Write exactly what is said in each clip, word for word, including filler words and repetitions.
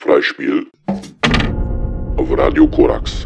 Freispiel auf Radio Korax.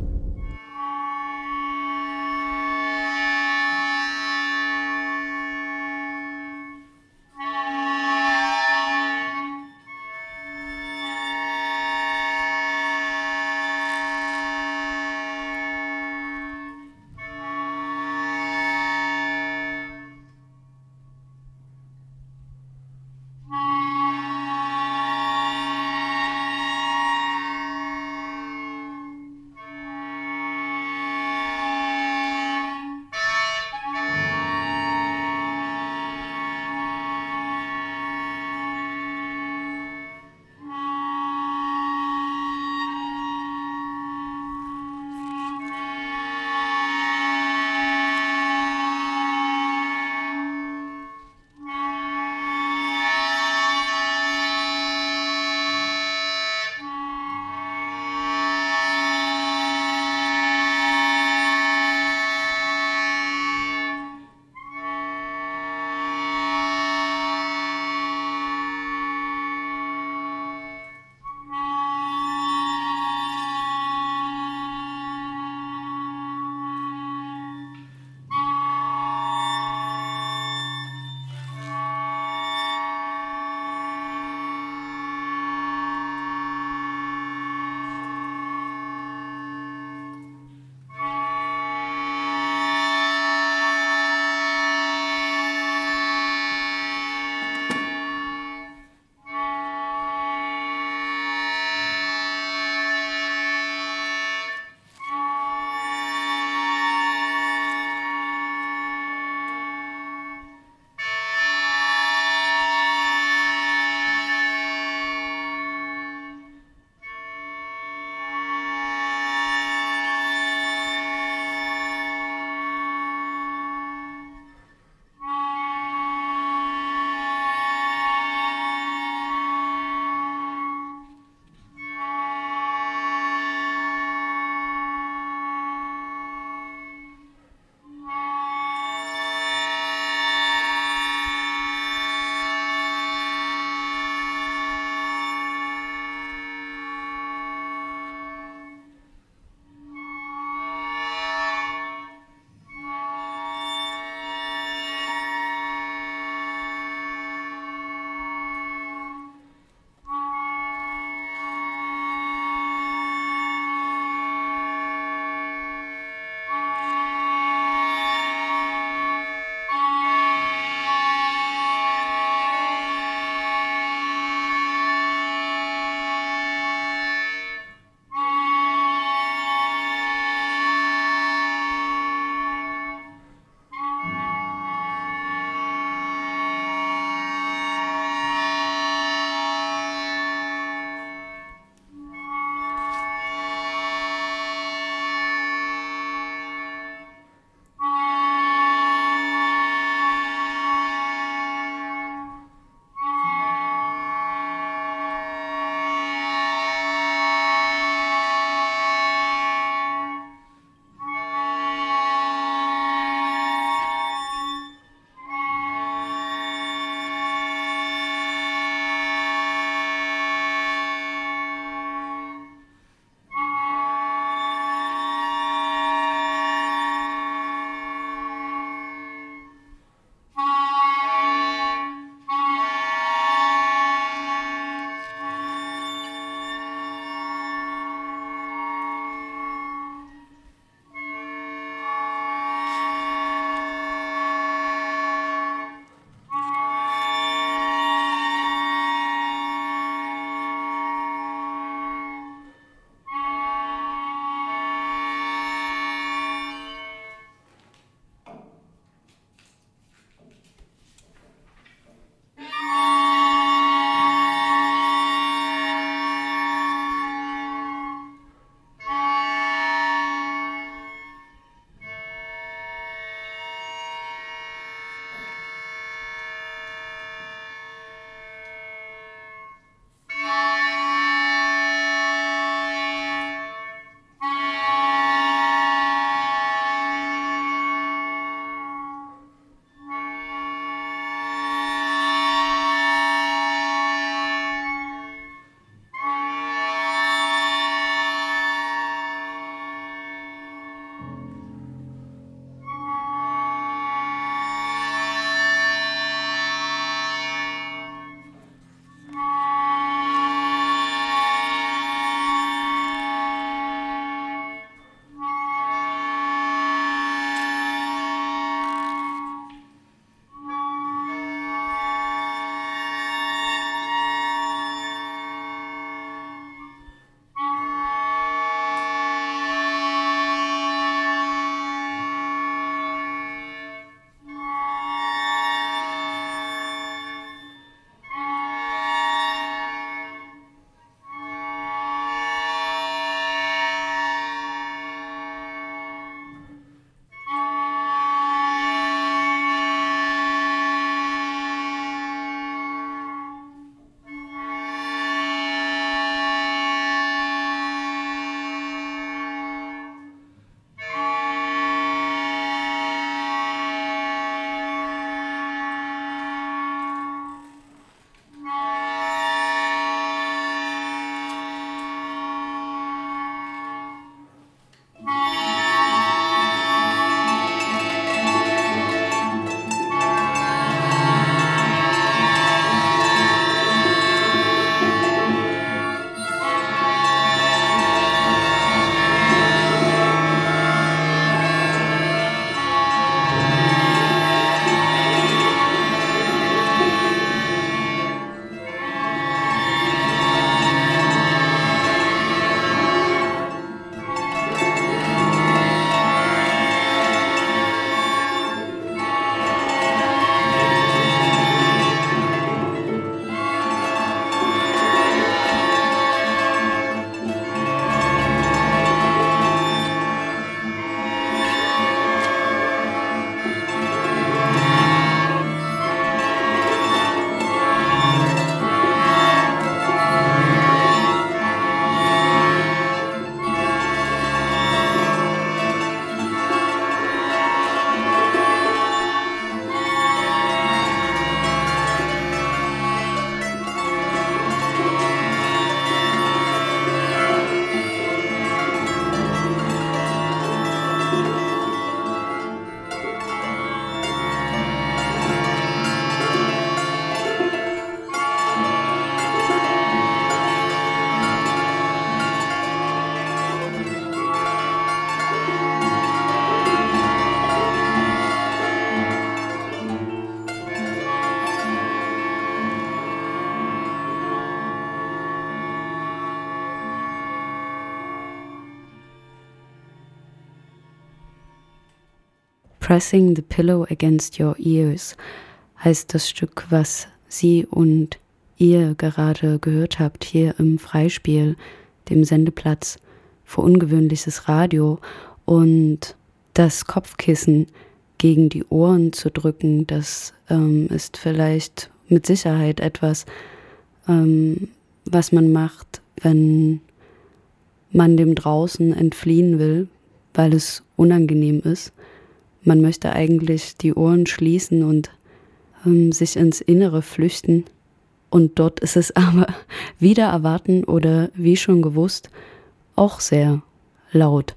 Pressing the Pillow Against Your Ears heißt das Stück, was Sie und ihr gerade gehört habt, hier im Freispiel, dem Sendeplatz für ungewöhnliches Radio. Und das Kopfkissen gegen die Ohren zu drücken, das ähm, ist vielleicht mit Sicherheit etwas, ähm, was man macht, wenn man dem Draußen entfliehen will, weil es unangenehm ist. Man möchte eigentlich die Ohren schließen und ähm, sich ins Innere flüchten. Und dort ist es aber wieder erwarten oder wie schon gewusst, auch sehr laut.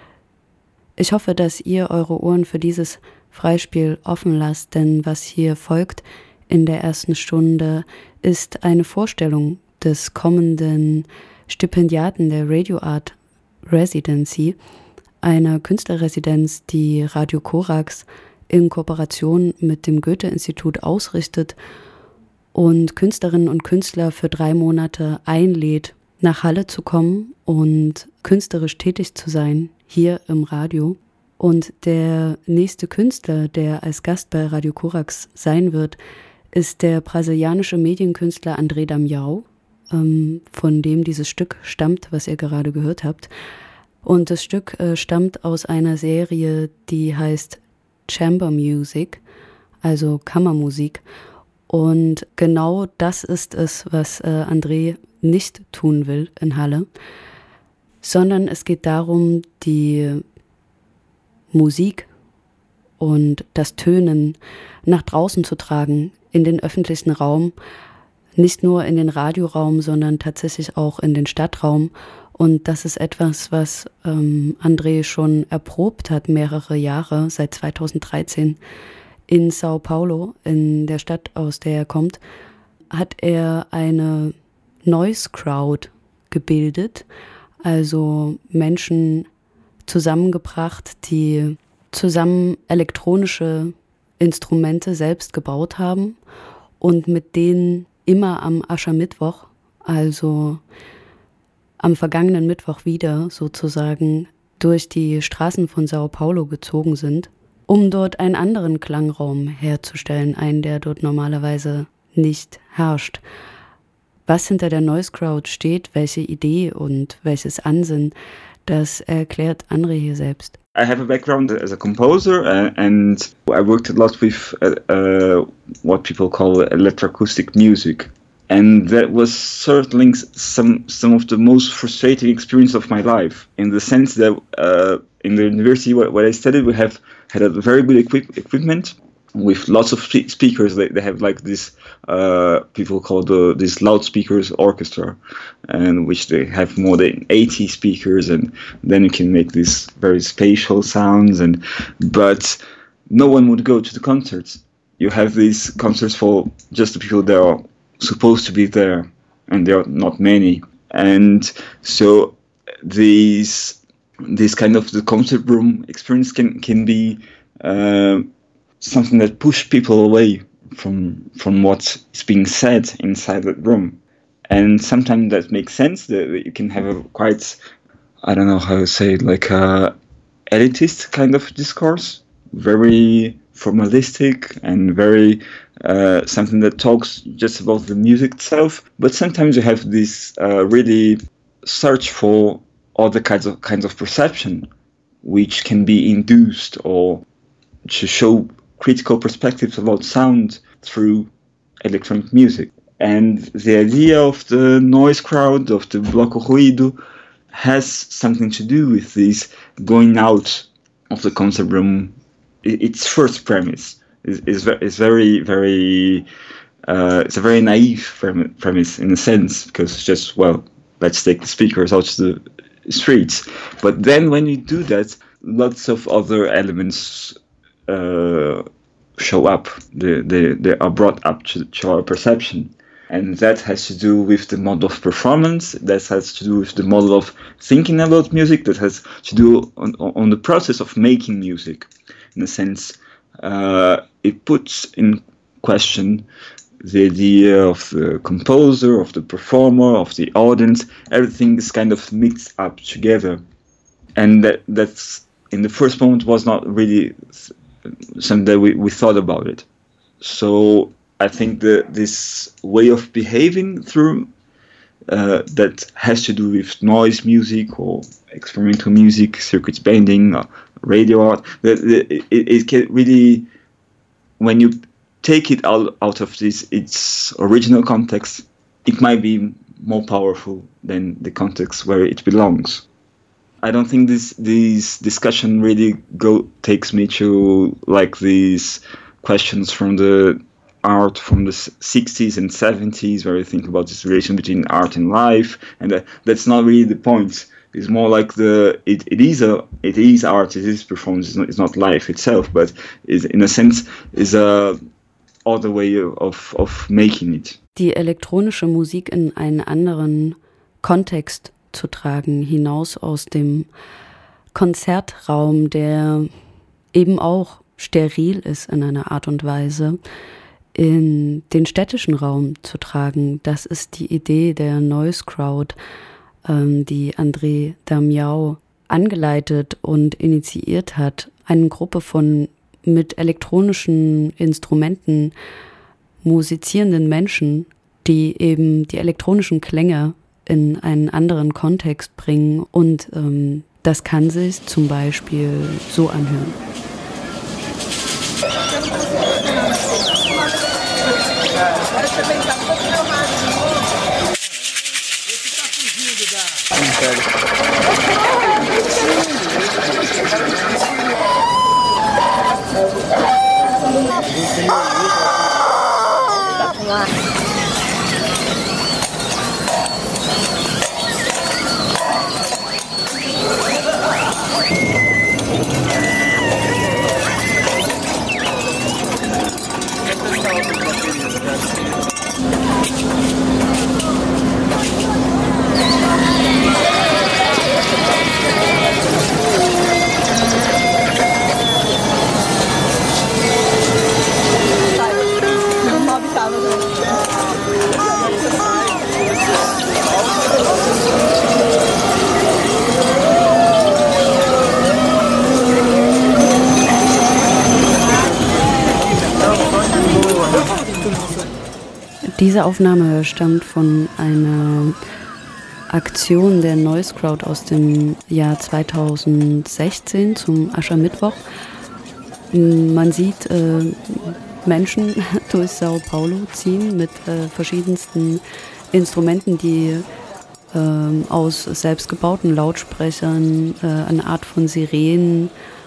Ich hoffe, dass ihr eure Ohren für dieses Freispiel offen lasst, denn was hier folgt in der ersten Stunde ist eine Vorstellung des kommenden Stipendiaten der Radio Art Residency, einer Künstlerresidenz, die Radio Korax in Kooperation mit dem Goethe-Institut ausrichtet und Künstlerinnen und Künstler für drei Monate einlädt, nach Halle zu kommen und künstlerisch tätig zu sein, hier im Radio. Und der nächste Künstler, der als Gast bei Radio Korax sein wird, ist der brasilianische Medienkünstler André Damião, ähm, von dem dieses Stück stammt, was ihr gerade gehört habt. Und das Stück äh, stammt aus einer Serie, die heißt Chamber Music, also Kammermusik. Und genau das ist es, was äh, André nicht tun will in Halle, sondern es geht darum, die Musik und das Tönen nach draußen zu tragen, in den öffentlichen Raum, nicht nur in den Radioraum, sondern tatsächlich auch in den Stadtraum. Und das ist etwas, was ähm, André schon erprobt hat, mehrere Jahre, seit zweitausenddreizehn. In Sao Paulo, in der Stadt, aus der er kommt, hat er eine Noise Crowd gebildet, also Menschen zusammengebracht, die zusammen elektronische Instrumente selbst gebaut haben und mit denen immer am Aschermittwoch, also am vergangenen Mittwoch wieder sozusagen, durch die Straßen von Sao Paulo gezogen sind, um dort einen anderen Klangraum herzustellen, einen, der dort normalerweise nicht herrscht. Was hinter der Noise Crowd steht, welche Idee und welches Ansinnen, das erklärt André hier selbst. I have a background as a composer uh, and I worked a lot with uh, uh, what people call electroacoustic music. And that was certainly some some of the most frustrating experience of my life, in the sense that uh, in the university where, where I studied, we have had a very good equip- equipment with lots of spe- speakers. They, they have like this, uh, people call the this loudspeakers orchestra, and which they have more than eighty speakers, and then you can make these very spatial sounds. And but no one would go to the concerts. You have these concerts for just the people that are supposed to be there, and there are not many. And so these this kind of the concert room experience can can be uh, something that pushes people away from from what's being said inside that room. And sometimes that makes sense, that you can have a quite, I don't know how to say it, like a elitist kind of discourse, very formalistic and very uh, something that talks just about the music itself. But sometimes you have this uh, really search for other kinds of kinds of perception, which can be induced or to show critical perspectives about sound through electronic music. And the idea of the noise crowd, of the bloco ruido, has something to do with this going out of the concert room. Its first premise is, is, is very, very, uh, it's a very naive premise in a sense, because it's just, well, let's take the speakers out to the streets. But then when you do that, lots of other elements uh, show up. They, they, they are brought up to, to our perception. And that has to do with the model of performance, that has to do with the model of thinking about music, that has to do on, on the process of making music. In a sense, uh, it puts in question the idea of the composer, of the performer, of the audience. Everything is kind of mixed up together. And that that's in the first moment was not really something that we, we thought about it. So I think that this way of behaving through uh, that has to do with noise music or experimental music, circuits bending, or radio art. That it, it can really, when you take it out out of this its original context, it might be more powerful than the context where it belongs. I don't think this this discussion really go takes me to like these questions from the art from the sixties and seventies, where you think about this relation between art and life, and that, that's not really the point. It's more like the it, it is a it is art, it is performance, it's not, it's not life itself, but is in a sense is a other way of of making it. Die elektronische Musik in einen anderen Kontext zu tragen, hinaus aus dem Konzertraum, der eben auch steril ist in einer Art und Weise, in den städtischen Raum zu tragen. Das ist die Idee der Noise Crowd, ähm, die André Damião angeleitet und initiiert hat. Eine Gruppe von mit elektronischen Instrumenten musizierenden Menschen, die eben die elektronischen Klänge in einen anderen Kontext bringen. Und ähm, das kann sich zum Beispiel so anhören. Diese Aufnahme stammt von einer Aktion der Noise Crowd aus dem Jahr zweitausendsechzehn zum Aschermittwoch. Man sieht äh, Menschen durch Sao Paulo ziehen mit äh, verschiedensten Instrumenten, die äh, aus selbstgebauten Lautsprechern, äh, eine Art von Sirenen,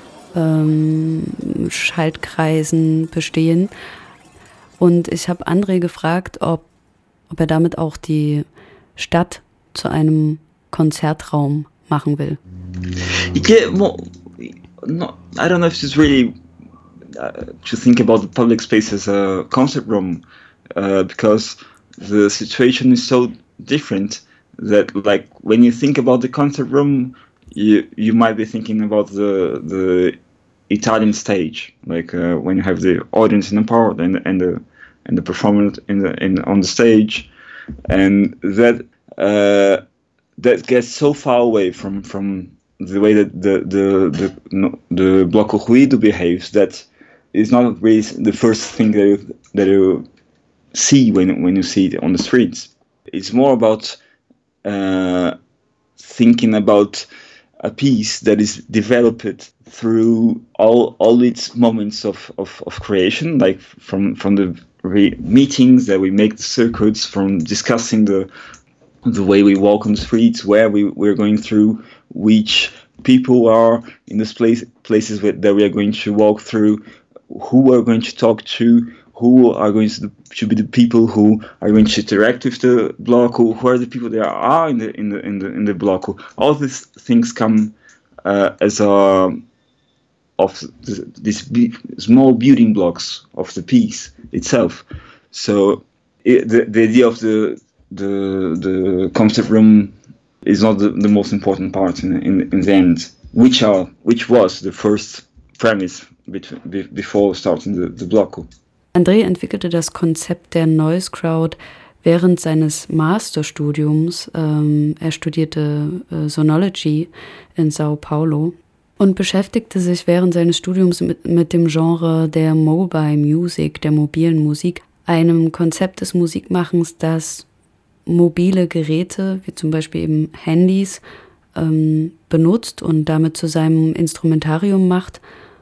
äh, Schaltkreisen bestehen. Und ich habe André gefragt, ob, ob er damit auch die Stadt zu einem Konzertraum machen will. Yeah, well, no, I don't know if it's really uh, to think about the public space as a concert room, uh, because the situation is so different that, like, when you think about the concert room, you you might be thinking about the the Italian stage, like uh, when you have the audience in the part and and the and the performer in the in on the stage, and that uh, that gets so far away from, from the way that the the the no, the Bloco Ruído behaves that it's not really the first thing that you, that you see when when you see it on the streets. It's more about uh, thinking about a piece that is developed through all all its moments of, of, of creation, like from from the re- meetings that we make, the circuits, from discussing the the way we walk on the streets, where we, we're going through, which people are in this place places where, that we are going to walk through, who we're going to talk to, who are going to, to be the people who are going to interact with the block, who, who are the people that are in the in the in the in the block. All these things come uh, as a of the, these b- small building blocks of the piece itself. So it, the the idea of the the the concert room is not the, the most important part in, in in the end, which are which was the first premise between, be, before starting the, the block. André entwickelte das Konzept der Noise Crowd während seines Masterstudiums. Ähm, er studierte äh, Sonology in Sao Paulo. Und beschäftigte sich während seines Studiums mit, mit dem Genre der Mobile Music, der mobilen Musik, einem Konzept des Musikmachens, das mobile Geräte, wie zum Beispiel eben Handys, ähm, benutzt und damit zu seinem Instrumentarium macht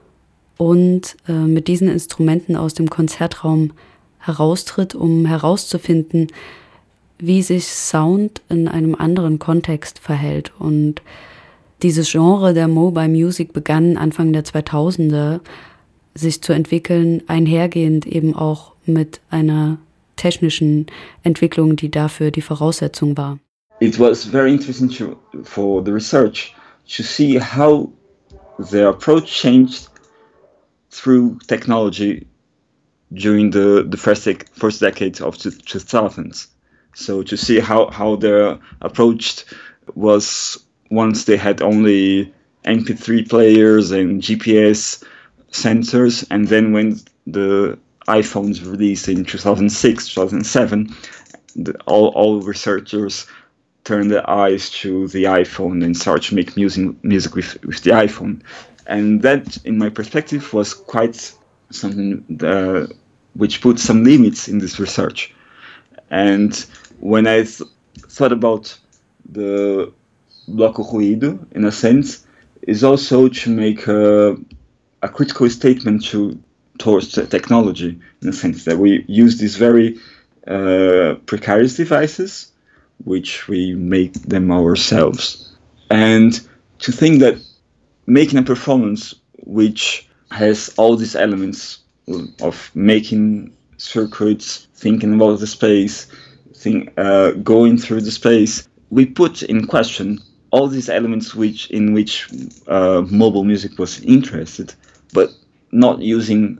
und äh, mit diesen Instrumenten aus dem Konzertraum heraustritt, um herauszufinden, wie sich Sound in einem anderen Kontext verhält. Und dieses Genre der Mobile Music begann Anfang der zweitausender sich zu entwickeln, einhergehend eben auch mit einer technischen Entwicklung, die dafür die Voraussetzung war. It was very interesting to, for the research to see how the approach changed through technology during the, the first, dec- first decade of the two thousands. So to see how, how their approach was once they had only M P three players and G P S sensors, and then when the iPhones released in two thousand six, two thousand seven, the, all, all researchers turned their eyes to the iPhone and started to make music, music with, with the iPhone. And that, in my perspective, was quite something uh, which put some limits in this research. And when I th- thought about the Bloco Ruído, in a sense, is also to make a, a critical statement to towards the technology, in a sense that we use these very uh, precarious devices, which we make them ourselves. And to think that making a performance which has all these elements of making circuits, thinking about the space, think, uh, going through the space, we put in question all these elements which in which uh, mobile music was interested, but not using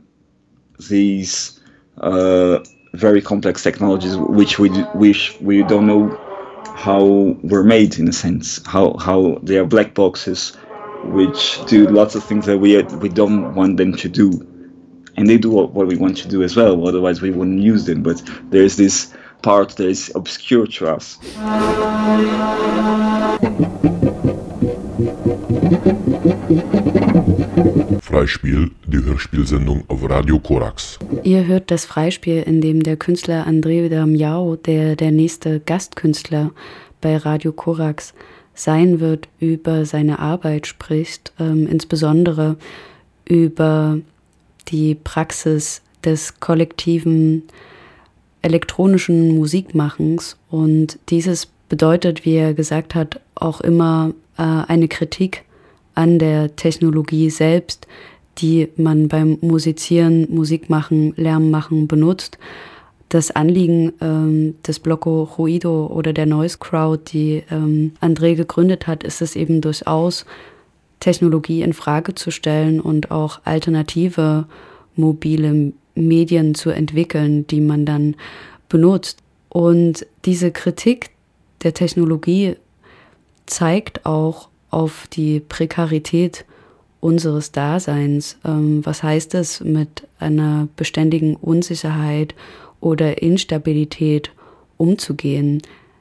these uh, very complex technologies which we which we don't know how were made, in a sense, how how they are black boxes which do lots of things that we we don't want them to do, and they do what, what we want to do as well, otherwise we wouldn't use them, but there's this part that is obscure to us. Freispiel, die Hörspielsendung auf Radio Korax. Ihr hört das Freispiel, in dem der Künstler André Damião, der der nächste Gastkünstler bei Radio Korax sein wird, über seine Arbeit spricht, ähm, insbesondere über die Praxis des kollektiven elektronischen Musikmachens. Und dieses bedeutet, wie er gesagt hat, auch immer äh, eine Kritik an der Technologie selbst, die man beim Musizieren, Musikmachen, Lärmmachen benutzt. Das Anliegen ähm, des Bloco Ruído oder der Noise Crowd, die ähm, André gegründet hat, ist es eben durchaus, Technologie in Frage zu stellen und auch alternative mobile Medien zu entwickeln, die man dann benutzt. Und diese Kritik der Technologie zeigt auch auf die Prekarität unseres Daseins. Ähm, was heißt es, mit einer beständigen Unsicherheit oder Instabilität umzugehen?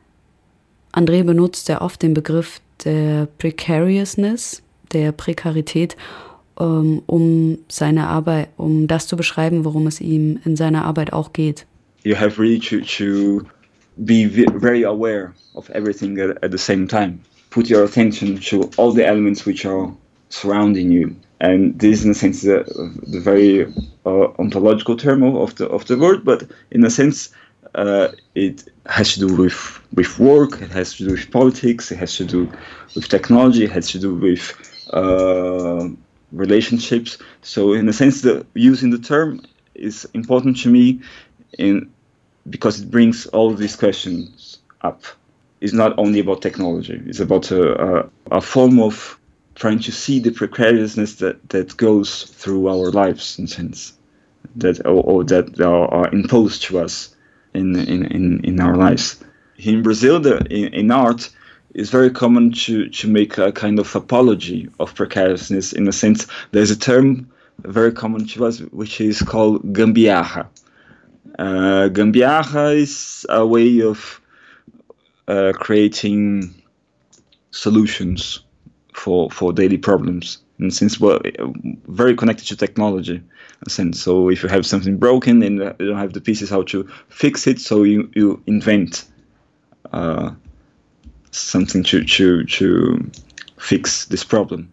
André benutzt sehr oft den Begriff der Precariousness, der Prekarität, um, um seine Arbeit, um das zu beschreiben, worum es ihm in seiner Arbeit auch geht. You have really to, to be very aware of everything at, at the same time. Put your attention to all the elements which are surrounding you. And this, in a sense, is a, the very uh, ontological term of the of the word, but in a sense, uh, it has to do with with work. It has to do with politics. It has to do with technology. It has to do with uh, relationships. So, in a sense, the using the term is important to me, in because it brings all these questions up. It's not only about technology. It's about a, a, a form of trying to see the precariousness that, that goes through our lives, in a sense, that or, or that are, are imposed to us in in, in, in our lives. In Brazil, the, in, in art, it's very common to, to make a kind of apology of precariousness. In a sense, there's a term very common to us which is called gambiarra. Uh, gambiarra is a way of uh, creating solutions for, for daily problems. And since we're very connected to technology, in a sense. So if you have something broken and you don't have the pieces how to fix it, so you, you invent uh, something to, to, to fix this problem.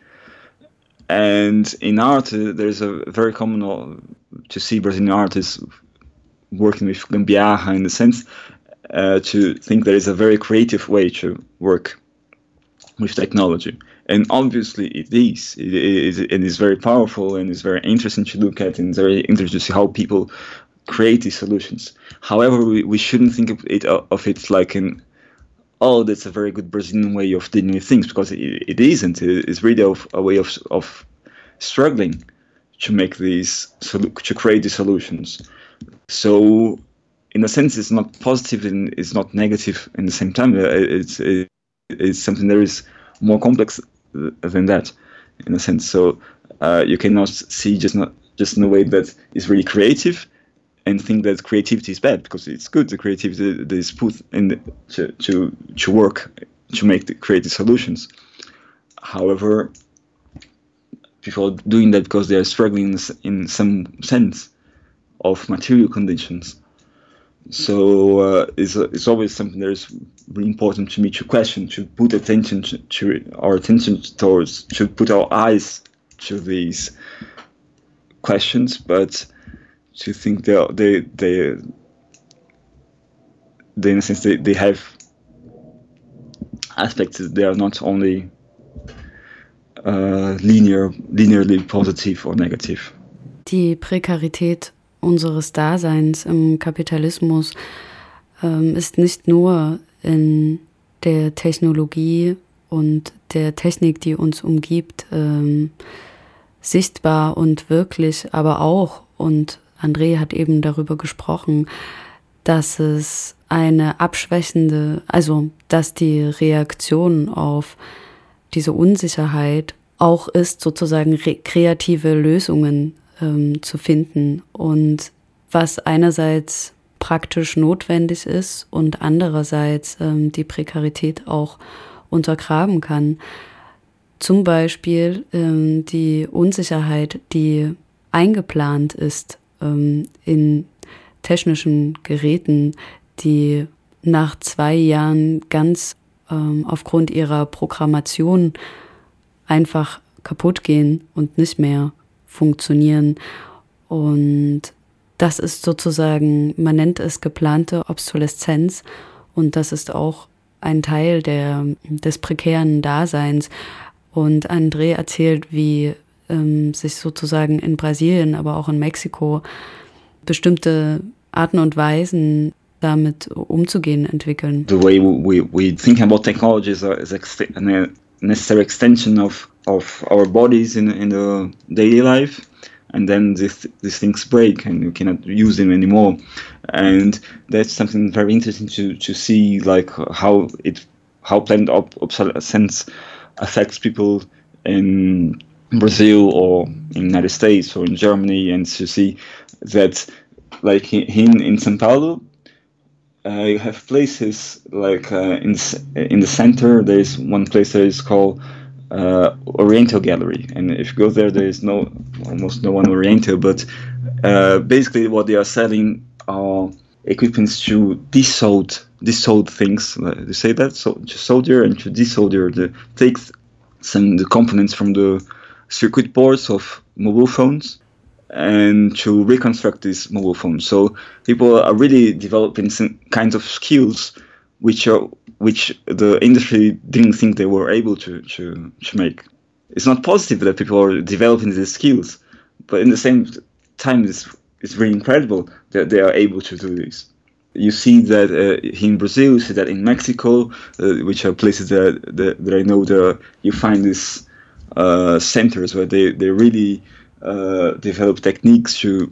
And in art, uh, there's a very common uh, to see Brazilian artists working with gambiarra in the sense uh, to think there is a very creative way to work with technology. And obviously it is. It is, it is very powerful and it's very interesting to look at, and it's very interesting to see how people create these solutions. However, we, we shouldn't think of it, of it like an oh, that's a very good Brazilian way of dealing with things, because it, it isn't. It's really of, a way of of struggling to make these, to create these solutions. So, in a sense, it's not positive and it's not negative in the same time. It's it, it's something that is more complex than that, in a sense. So, uh, you cannot see just not just in a way that is really creative, and think that creativity is bad, because it's good. The creativity that is put in the, to, to to work to make the creative solutions. However, people are doing that because they are struggling in some sense of material conditions. So uh, it's it's always something that is really important to me to question, to put attention to, to our attention towards, to put our eyes to these questions, but to think they they they, they in a sense they, they have aspects that they are not only uh, linear linearly positive or negative. Die Prekarität unseres Daseins im Kapitalismus ähm, ist nicht nur in der Technologie und der Technik, die uns umgibt, ähm, sichtbar und wirklich, aber auch, und André hat eben darüber gesprochen, dass es eine abschwächende, also dass die Reaktion auf diese Unsicherheit auch ist, sozusagen re- kreative Lösungen ähm, zu finden, und was einerseits praktisch notwendig ist und andererseits ähm, die Prekarität auch untergraben kann. Zum Beispiel ähm, die Unsicherheit, die eingeplant ist ähm, in technischen Geräten, die nach zwei Jahren ganz ähm, aufgrund ihrer Programmation einfach kaputt gehen und nicht mehr funktionieren. Und das ist sozusagen, man nennt es geplante Obsoleszenz, und das ist auch ein Teil der, des prekären Daseins. Und André erzählt, wie ähm, sich sozusagen in Brasilien, aber auch in Mexiko bestimmte Arten und Weisen, damit umzugehen, entwickeln. The way we, we think about technology is a, is a necessary extension of, of our bodies in, in the daily life. And then this, these things break and you cannot use them anymore. And that's something very interesting to, to see, like how it how planned ob- obsolescence affects people in Brazil or in the United States or in Germany, and to see that, like in in São Paulo, uh, you have places like uh, in in the center. There is one place that is called Uh, Oriental Gallery, and if you go there, there is no almost no one Oriental, but uh, basically what they are selling are equipments to desolder desolder things. Uh, they say that, so to solder and to desolder, the take some the components from the circuit boards of mobile phones and to reconstruct these mobile phones. So people are really developing some kinds of skills which are which the industry didn't think they were able to, to, to make. It's not positive that people are developing these skills, but in the same time, it's, it's really incredible that they are able to do this. You see that uh, in Brazil, you see that in Mexico, uh, which are places that, that, that I know that you find these uh, centers where they, they really uh, develop techniques to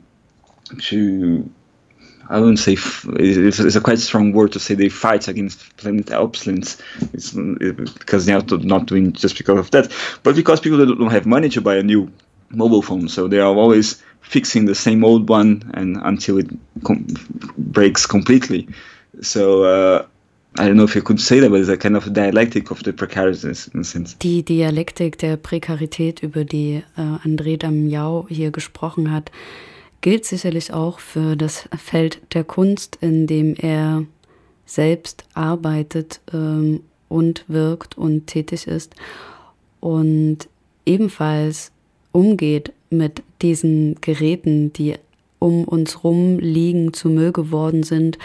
to I wouldn't say f- it's, it's a quite strong word to say they fight against planet obsolescence. It's it, because they are not doing just because of that, but because people don't have money to buy a new mobile phone, so they are always fixing the same old one and until it com- breaks completely. So uh, I don't know if you could say that, but it's a kind of dialectic of the precariousness in a sense. Die Dialektik der Prekarität, über die äh, André Damião hier gesprochen hat, gilt sicherlich auch für das Feld der Kunst, in dem er selbst arbeitet ähm, und wirkt und tätig ist und ebenfalls umgeht mit diesen Geräten, die um uns rum liegen, zu Müll geworden sind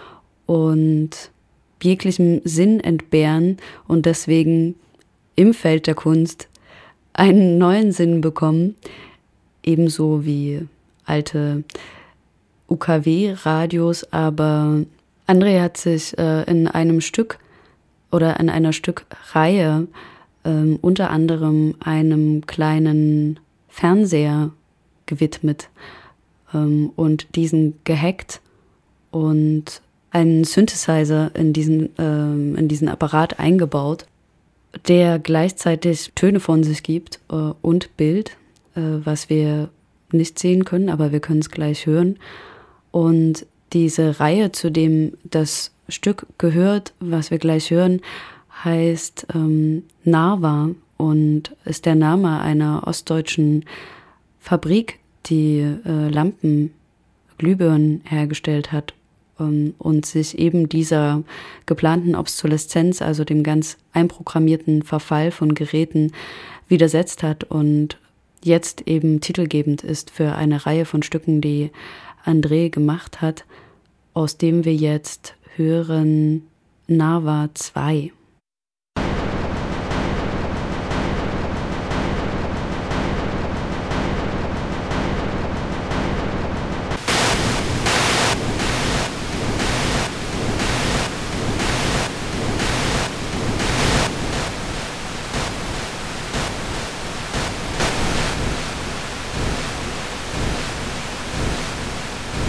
und jeglichem Sinn entbehren und deswegen im Feld der Kunst einen neuen Sinn bekommen, ebenso wie alte U K W-Radios, aber André hat sich äh, in einem Stück oder in einer Stückreihe äh, unter anderem einem kleinen Fernseher gewidmet ähm, und diesen gehackt und einen Synthesizer in diesen, ähm, in diesen Apparat eingebaut, der gleichzeitig Töne von sich gibt äh, und Bild, äh, was wir nicht sehen können, aber wir können es gleich hören. Und diese Reihe, zu dem das Stück gehört, was wir gleich hören, heißt ähm, Narva und ist der Name einer ostdeutschen Fabrik, die äh, Lampen, Glühbirnen hergestellt hat ähm, und sich eben dieser geplanten Obsoleszenz, also dem ganz einprogrammierten Verfall von Geräten, widersetzt hat und jetzt eben titelgebend ist für eine Reihe von Stücken, die André gemacht hat, aus dem wir jetzt hören Narva zwei.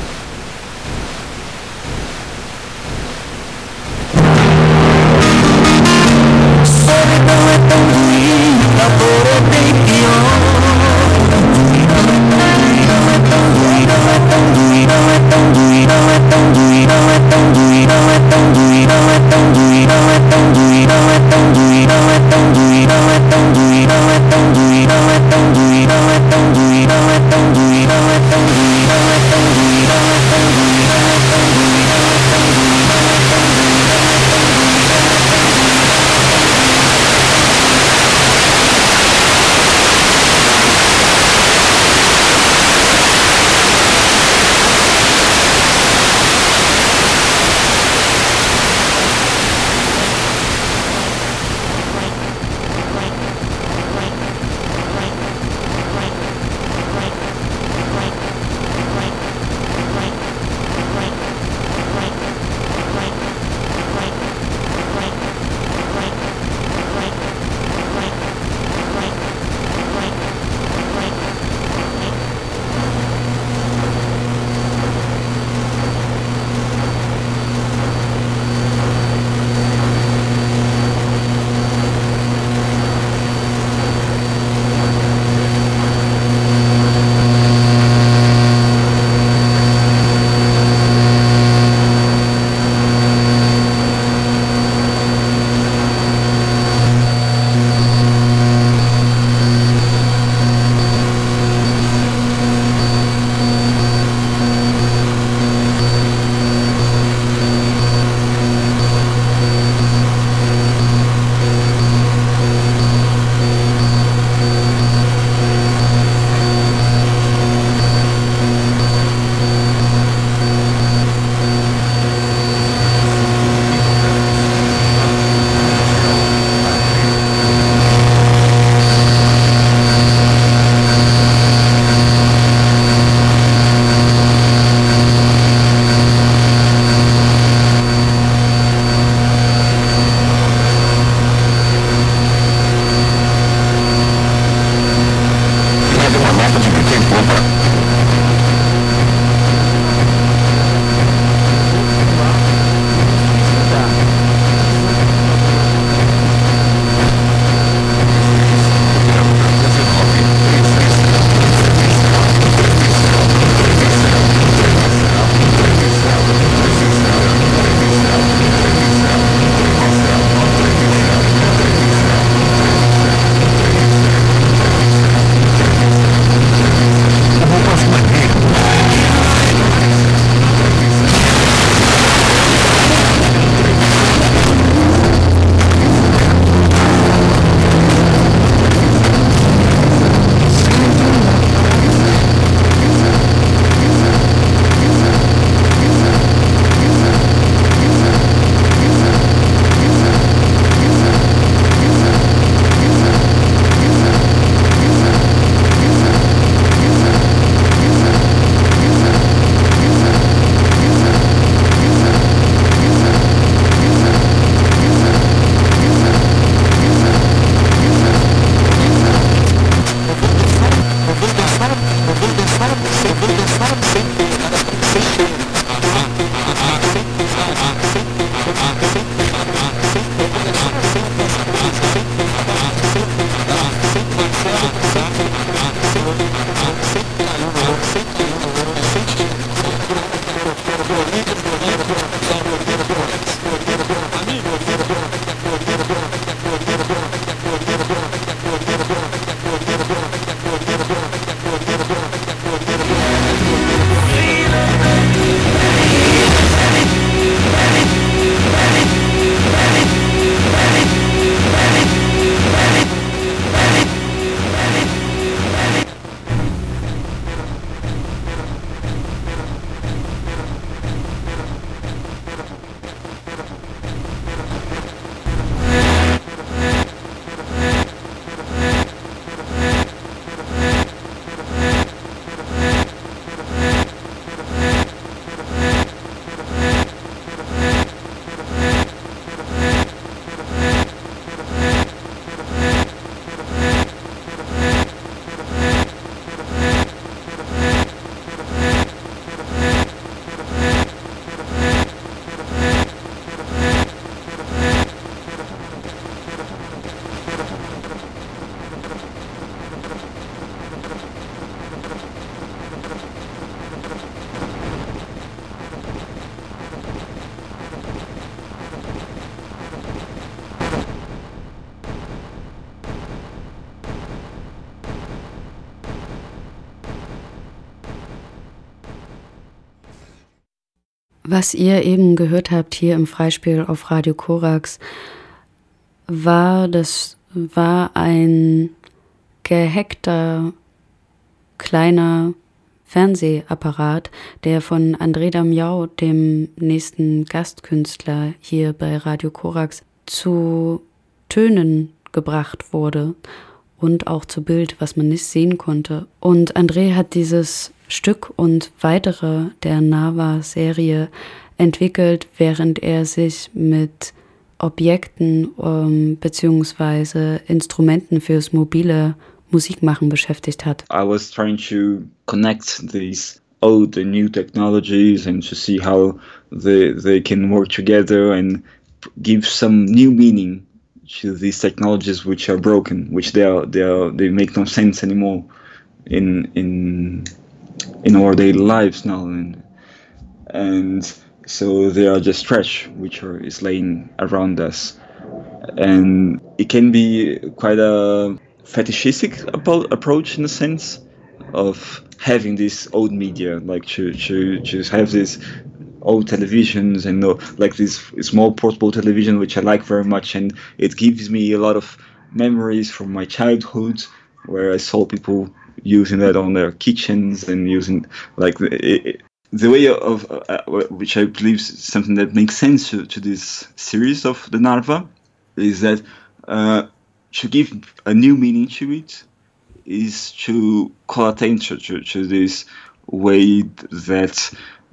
We'll be right back. Was ihr eben gehört habt hier im Freispiel auf Radio Korax, war das war ein gehackter kleiner Fernsehapparat, der von André Damiao, dem nächsten Gastkünstler hier bei Radio Korax, zu Tönen gebracht wurde und auch zu Bild, was man nicht sehen konnte. Und André hat dieses Stück und weitere der Nava-Serie entwickelt, während er sich mit Objekten ähm, bzw. Instrumenten fürs mobile Musikmachen beschäftigt hat. I was trying to connect these old and new technologies and to see how they, they can work together and give some new meaning to these technologies which are broken, which they are, they are, they make no sense anymore in in in our daily lives now, and and so they are just trash which are is laying around us, and it can be quite a fetishistic approach in a sense of having this old media, like to to to have this old televisions and uh, like this small portable television which I like very much, and it gives me a lot of memories from my childhood where I saw people using that on their kitchens and using like the, it, the way of uh, which I believe is something that makes sense to, to this series of the Narva is that uh, to give a new meaning to it is to call attention to, to this way that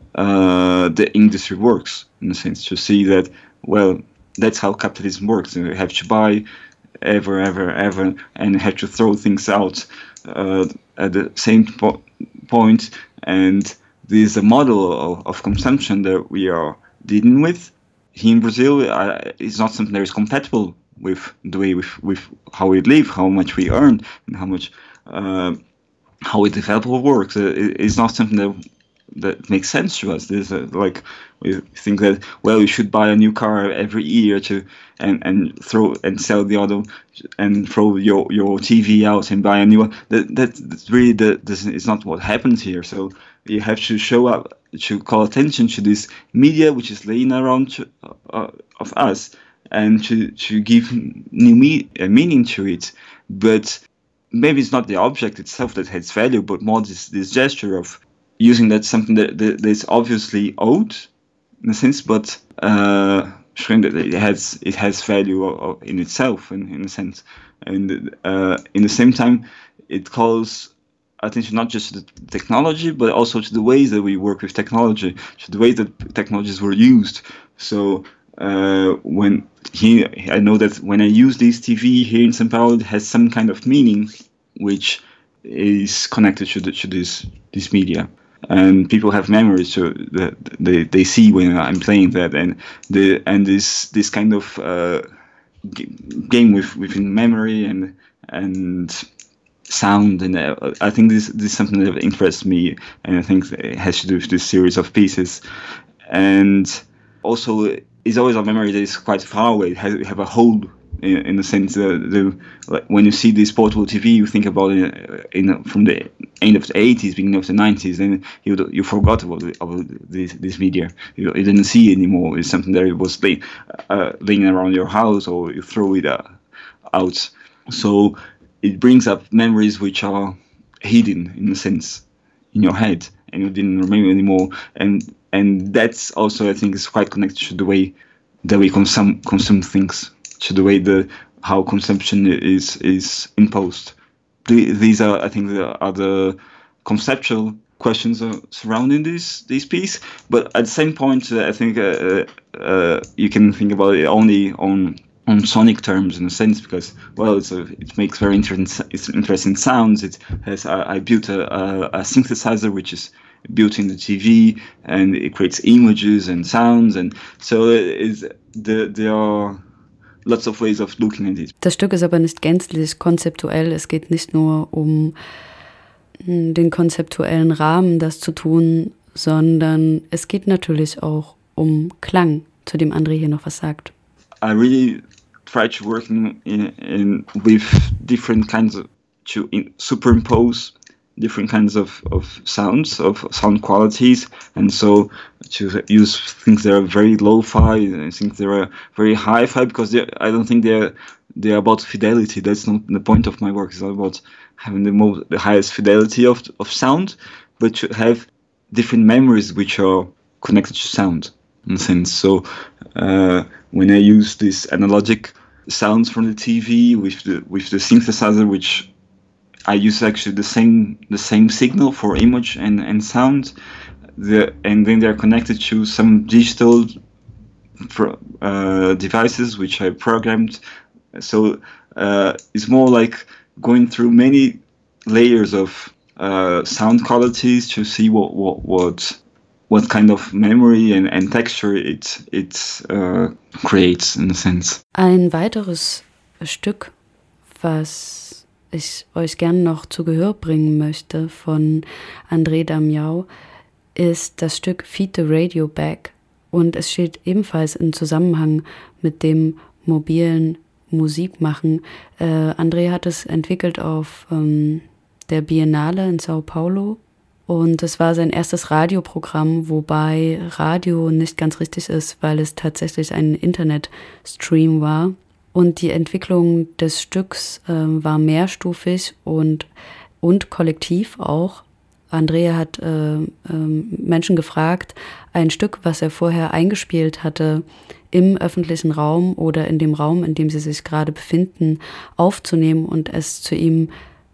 uh, the industry works, in a sense, to see that, well, that's how capitalism works. You have to buy ever, ever, ever, and have to throw things out uh, at the same po- point. And this is a model of, of consumption that we are dealing with. Here in Brazil, uh, it's not something that is compatible with the way with, with how we live, how much we earn, and how much uh, how we develop our work. Uh, it, it's not something that that makes sense to us. There's a, like we think that, well, you should buy a new car every year to and, and throw and sell the other and throw your, your T V out and buy a new one. That that that's really the this is not what happens here. So you have to show up to call attention to this media which is laying around to, uh, of us, and to to give new me- uh, meaning to it. But maybe it's not the object itself that has value, but more this this gesture of using that something that, that that's obviously old in a sense, but uh, showing that it has it has value in itself in, in a sense, and uh, in the same time it calls attention not just to the technology but also to the ways that we work with technology, to the ways that technologies were used. So uh, when he, I know that when I use this T V here in São Paulo, it has some kind of meaning which is connected to the, to this this media. And people have memories to that they, they see when I'm playing that, and the and this this kind of uh, g- game with within memory and and sound, and uh, I think this this is something that interests me, and I think it has to do with this series of pieces, and also it's always a memory that is quite far away. It has have a hold. In, in the sense that the, like when you see this portable T V, you think about it in, from the end of the eighties, beginning of the nineties, and you you forgot about, the, about this this media. You, you didn't see it anymore. It's something that it was laying, uh, laying around your house, or you throw it uh, out. So it brings up memories which are hidden, in a sense, in your head, and you didn't remember anymore. And and that's also, I think, is quite connected to the way that we consume consume things, to the way the how consumption is is imposed. The, these are, I think, the, are the conceptual questions uh, surrounding this this piece. But at the same point, uh, I think uh, uh, you can think about it only on on sonic terms, in a sense, because, well, it's a, it makes very interesting it's interesting sounds. It has uh, I built a, a, a synthesizer which is built in the T V, and it creates images and sounds, and so it is the there are lots of ways of looking at it. Das Stück ist aber nicht gänzlich konzeptuell. Es geht nicht nur um den konzeptuellen Rahmen, das zu tun, sondern es geht natürlich auch um Klang, zu dem André hier noch was sagt. I really try to work in, in, in with different kinds of to in, superimpose different kinds of, of sounds, of sound qualities, and so to use things that are very lo-fi and things that are very hi-fi, because I don't think they're they're about fidelity. That's not the point of my work. It's not about having the most the highest fidelity of of sound, but to have different memories which are connected to sound, in a sense. So uh, when I use these analogic sounds from the T V with the with the synthesizer, which I use actually the same the same signal for image and, and sound, the and then they're connected to some digital pro, uh, devices which I programmed. So uh, it's more like going through many layers of uh, sound qualities to see what what what, what kind of memory and, and texture it it uh, creates, in a sense. Ein weiteres Stück, was ich euch gerne noch zu Gehör bringen möchte von André Damião, ist das Stück Feed the Radio Back, und es steht ebenfalls im Zusammenhang mit dem mobilen Musikmachen. Äh, André hat es entwickelt auf ähm, der Biennale in Sao Paulo, und es war sein erstes Radioprogramm, wobei Radio nicht ganz richtig ist, weil es tatsächlich ein Internetstream war. Und die Entwicklung des Stücks äh, war mehrstufig und, und kollektiv auch. Andrea hat äh, äh, Menschen gefragt, ein Stück, was er vorher eingespielt hatte, im öffentlichen Raum oder in dem Raum, in dem sie sich gerade befinden, aufzunehmen und es zu ihm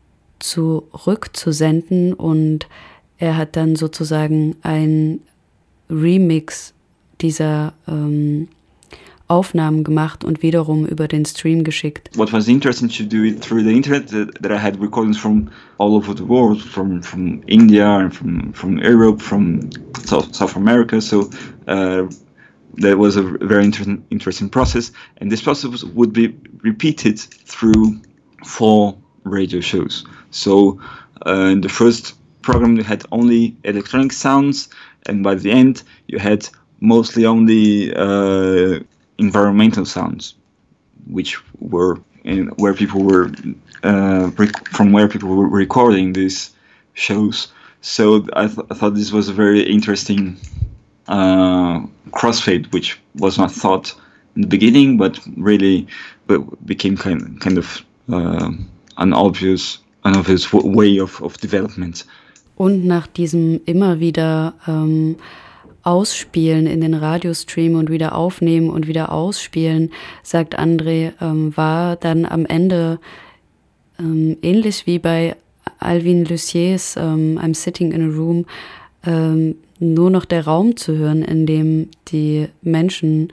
zurückzusenden. Und er hat dann sozusagen ein Remix dieser ähm, Aufnahmen gemacht und wiederum über den Stream geschickt. What was interesting to do it through the internet, that, that I had recordings from all over the world, from from India and from from Europe, from South, South America. So uh, that was a very inter- interesting process, and this process would be repeated through four radio shows. So uh, in the first program you had only electronic sounds, and by the end you had mostly only uh, environmental sounds, which were in, where people were uh, rec- from where people were recording these shows. So I, th- I thought this was a very interesting uh, crossfade, which was not thought in the beginning, but really but became kind kind of uh, an obvious an obvious w- way of, of development. Und nach diesem immer wieder ähm, Ausspielen in den Radiostream und wieder aufnehmen und wieder ausspielen, sagt André, ähm, war dann am Ende ähm, ähnlich wie bei Alvin Luciers ähm, I'm Sitting in a Room ähm, nur noch der Raum zu hören, in dem die Menschen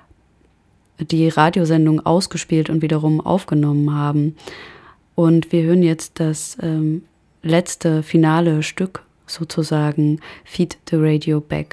die Radiosendung ausgespielt und wiederum aufgenommen haben. Und wir hören jetzt das ähm, letzte finale Stück sozusagen, Feed the Radio Back.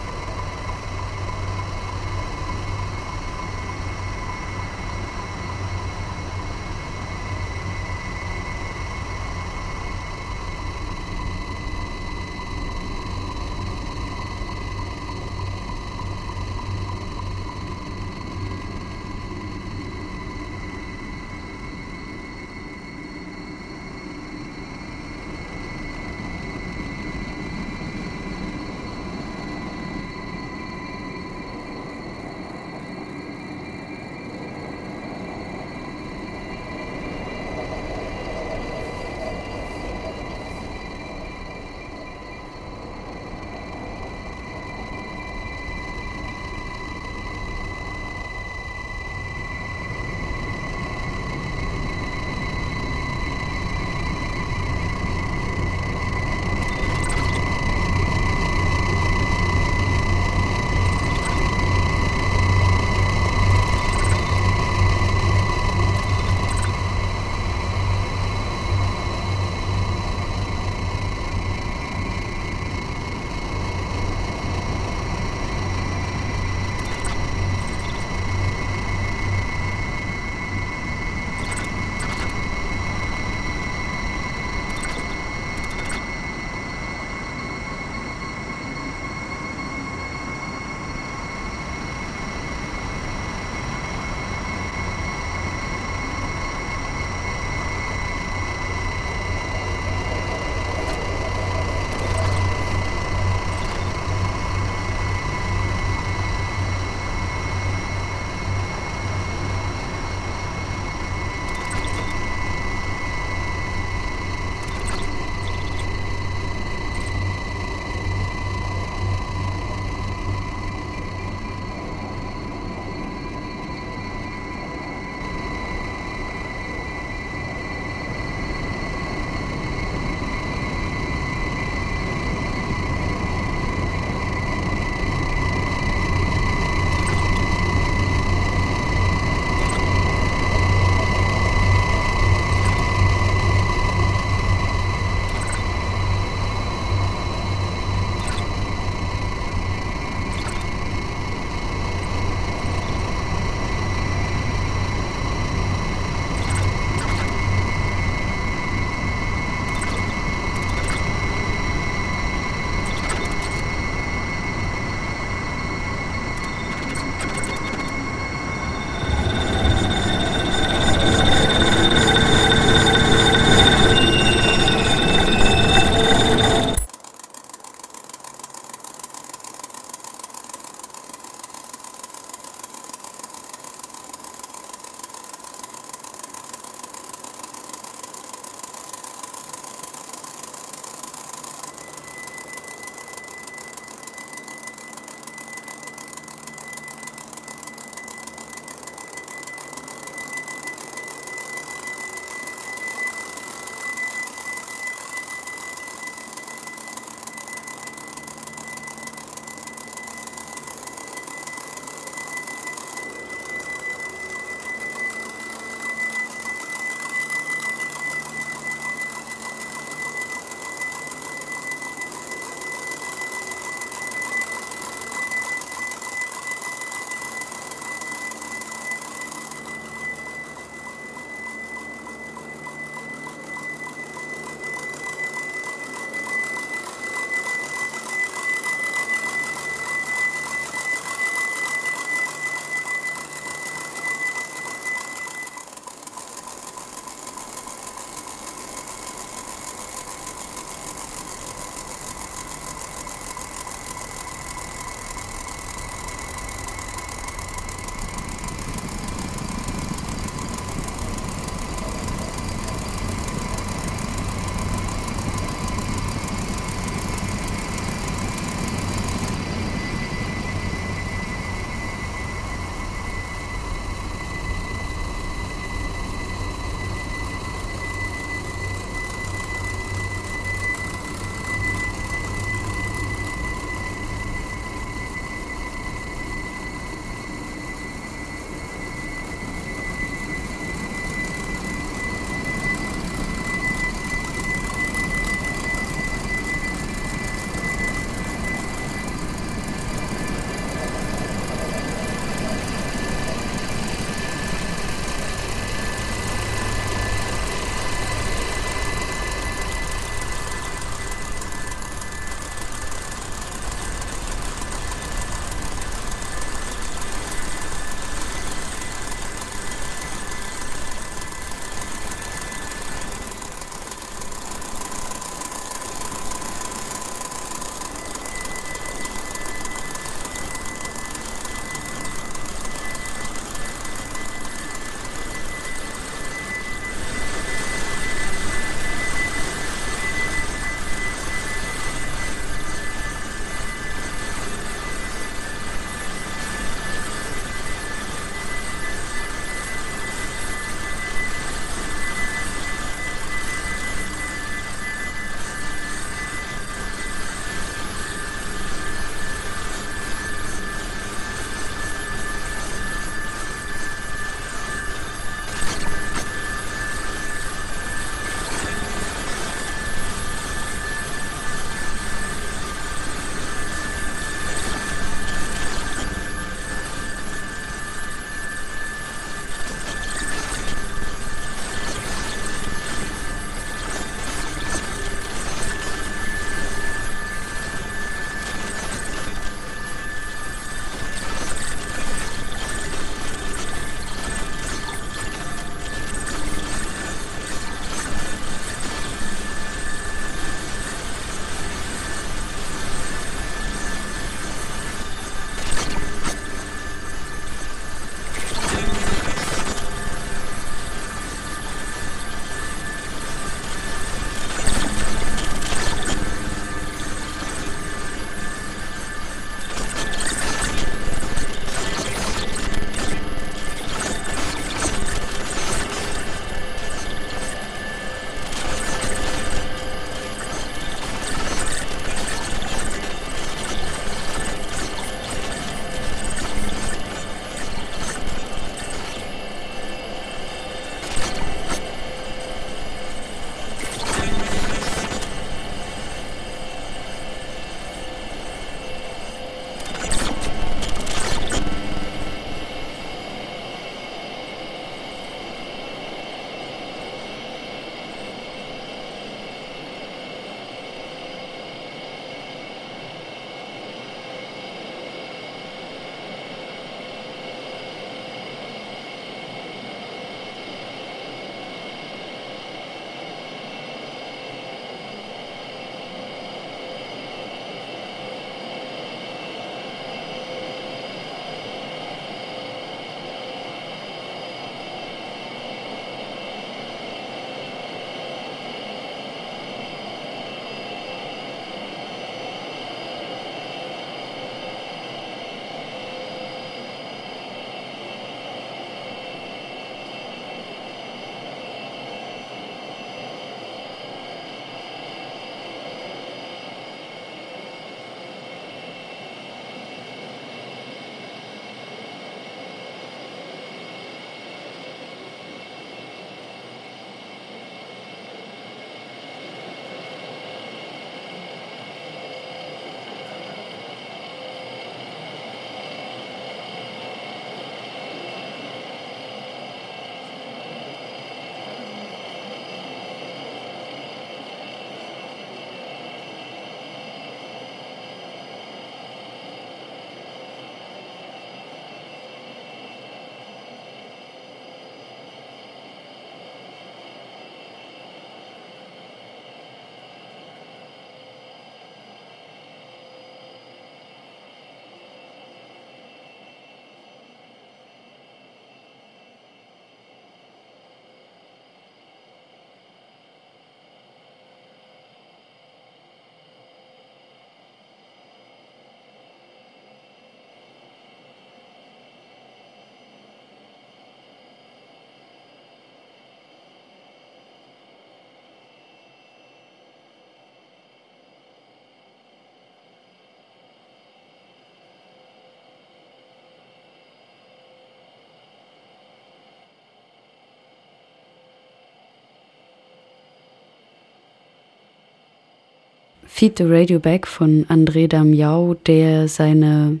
Feed the Radio Back von André Damião, der seine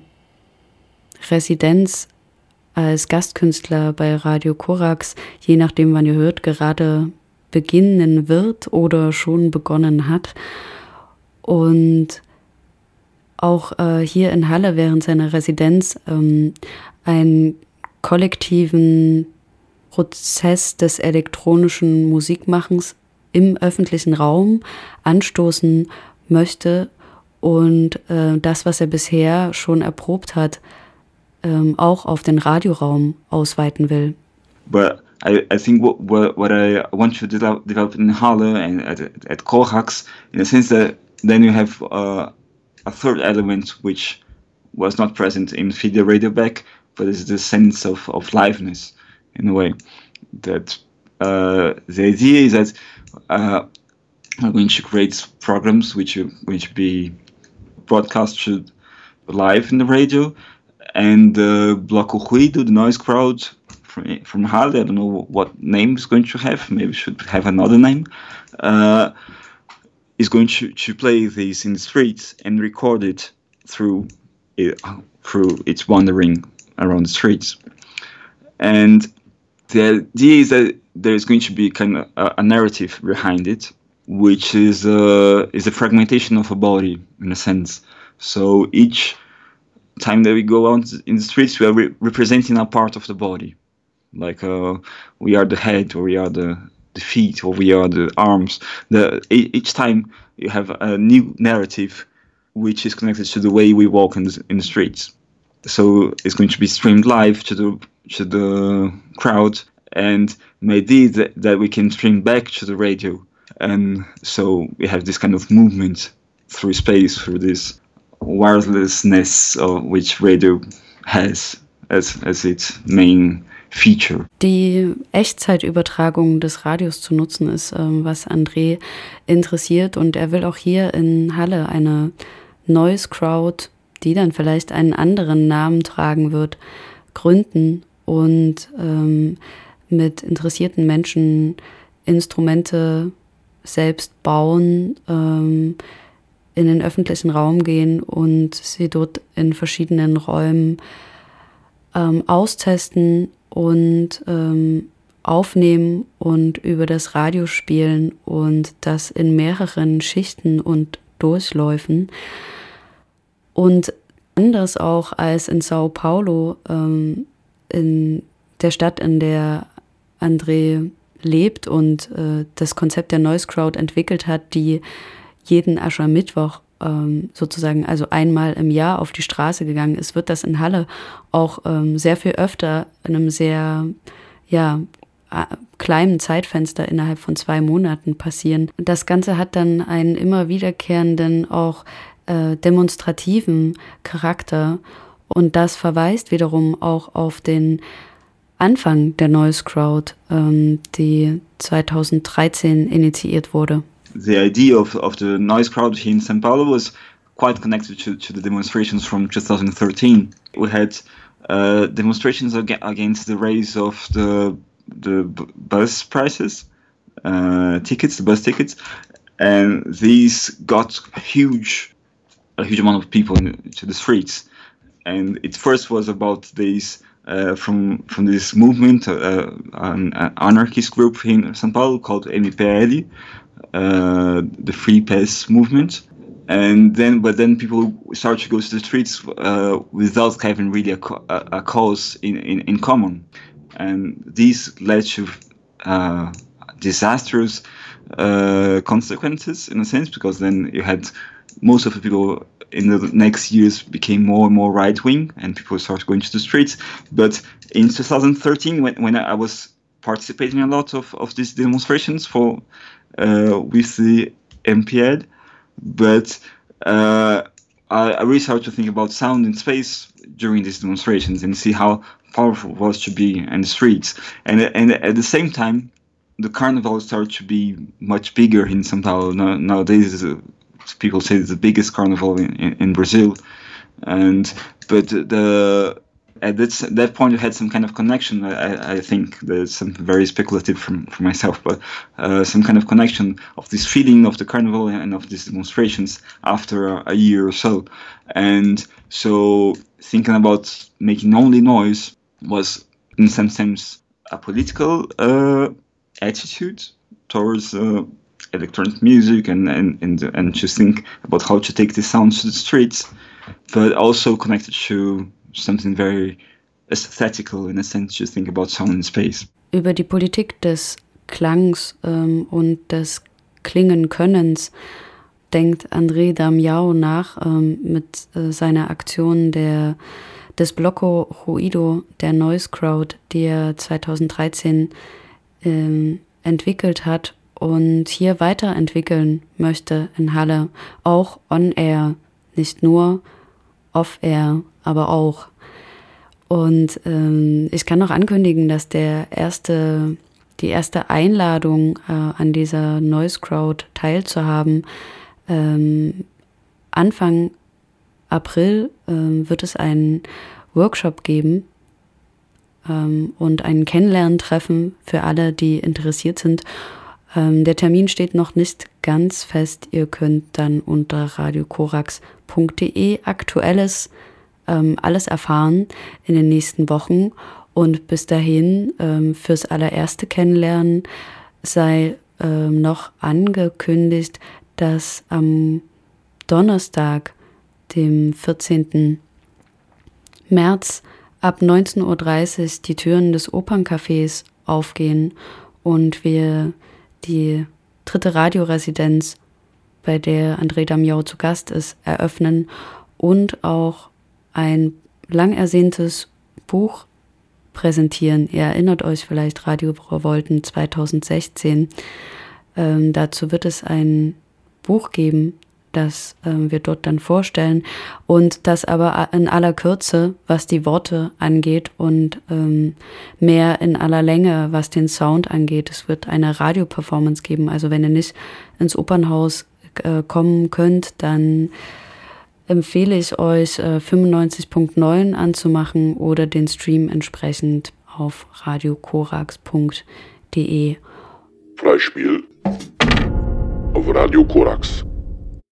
Residenz als Gastkünstler bei Radio Korax, je nachdem wann ihr hört, gerade beginnen wird oder schon begonnen hat. Und auch äh, hier in Halle während seiner Residenz ähm, einen kollektiven Prozess des elektronischen Musikmachens im öffentlichen Raum anstoßen möchte und äh, das, was er bisher schon erprobt hat, ähm, auch auf den Radioraum ausweiten will. But I, I think what, what, what I want to develop, develop in Halle and at, at Korax, in a sense that then you have uh, a third element which was not present in Feed the Radio Back, but is the sense of, of liveness, in a way. That uh, the idea is that uh, we're going to create programs which are going to be broadcasted live in the radio, and the uh, Bloco Ruido, the noise crowd from, from Halle, I don't know what name it's going to have, maybe it should have another name, uh, is going to, to play this in the streets and record it through it, through its wandering around the streets. And the idea is that there is going to be kind of a, a narrative behind it, which is a, is a fragmentation of a body, in a sense. So each time that we go out in the streets, we are re- representing a part of the body. Like uh, we are the head, or we are the, the feet, or we are the arms. The, each time you have a new narrative which is connected to the way we walk in the, in the streets. So it's going to be streamed live to the to the crowd, and maybe that, that we can stream back to the radio. And so we have this kind of movement through space, through this wirelessness of which radio has as, as its main feature. Die Echtzeitübertragung des Radios zu nutzen ist, ähm, was André interessiert, und er will auch hier in Halle eine Noise Crowd, die dann vielleicht einen anderen Namen tragen wird, gründen und ähm, mit interessierten Menschen Instrumente selbst bauen, ähm, in den öffentlichen Raum gehen und sie dort in verschiedenen Räumen ähm, austesten und ähm, aufnehmen und über das Radio spielen, und das in mehreren Schichten und Durchläufen. Und anders auch als in Sao Paulo, ähm, in der Stadt, in der André lebt und äh, das Konzept der Noise Crowd entwickelt hat, die jeden Aschermittwoch ähm, sozusagen, also einmal im Jahr auf die Straße gegangen ist, wird das in Halle auch ähm, sehr viel öfter in einem sehr, ja, kleinen Zeitfenster innerhalb von zwei Monaten passieren. Das Ganze hat dann einen immer wiederkehrenden, auch äh, demonstrativen Charakter, und das verweist wiederum auch auf den Anfang der Noise Crowd, ähm, die zweitausenddreizehn initiiert wurde. The idea of, of the Noise Crowd here in São Paulo was quite connected to, to the demonstrations from two thousand thirteen. We had uh, demonstrations ag- against the raise of the the b- bus prices, uh, tickets, the bus tickets, and these got huge, a huge amount of people into the streets. And it first was about these uh, from from this movement, uh, an, an anarchist group in São Paulo called M P L, uh, the Free Pass movement. And then, but then people started to go to the streets uh, without having really a, a, a cause in, in, in common. And these led to uh, disastrous uh, consequences, in a sense, because then you had most of the people in the next years became more and more right-wing, and people started going to the streets. But in two thousand thirteen, when, when I was participating in a lot of, of these demonstrations for uh, with the M P L, but uh, I, I really started to think about sound in space during these demonstrations and see how powerful it was to be in the streets. And, and at the same time, the carnival started to be much bigger in São Paulo. Now, nowadays, uh, people say it's the biggest carnival in, in, in Brazil. And but the At that, that point, we had some kind of connection. I, I think there's something very speculative from, from myself, but uh, some kind of connection of this feeling of the carnival and of these demonstrations after a, a year or so. And so thinking about making only noise was, in some sense, a political uh, attitude towards uh, electronic music and, and, and, and to think about how to take the sounds to the streets, but also connected to something very aesthetical in a sense, to think about sound in space. Über die Politik des Klangs ähm, und des Klingenkönnens denkt André Damião nach ähm, mit äh, seiner Aktion der, des Bloco Ruido, der Noise Crowd, die er zweitausenddreizehn ähm, entwickelt hat und hier weiterentwickeln möchte in Halle, auch on-air, nicht nur off-air, aber auch. Und ähm, ich kann noch ankündigen, dass der erste, die erste Einladung äh, an dieser Noise Crowd teilzuhaben, ähm, Anfang April ähm, wird es einen Workshop geben ähm, und ein Kennenlerntreffen für alle, die interessiert sind. Ähm, der Termin steht noch nicht ganz fest. Ihr könnt dann unter radiokorax punkt de Aktuelles ähm, alles erfahren in den nächsten Wochen. Und bis dahin ähm, fürs allererste Kennenlernen sei ähm, noch angekündigt, dass am Donnerstag, dem vierzehnten März, ab neunzehn Uhr dreißig die Türen des Operncafés aufgehen und wir die dritte Radioresidenz, bei der André Damião zu Gast ist, eröffnen und auch ein lang ersehntes Buch präsentieren. Ihr erinnert euch vielleicht, Radio Revolten zweitausendsechzehn. Ähm, dazu wird es ein Buch geben, das ähm, wir dort dann vorstellen und das aber in aller Kürze, was die Worte angeht und ähm, mehr in aller Länge, was den Sound angeht. Es wird eine Radioperformance geben, also wenn ihr nicht ins Opernhaus äh, kommen könnt, dann empfehle ich euch äh, fünfundneunzig Komma neun anzumachen oder den Stream entsprechend auf radiokorax punkt de. Freispiel auf Radio Korax.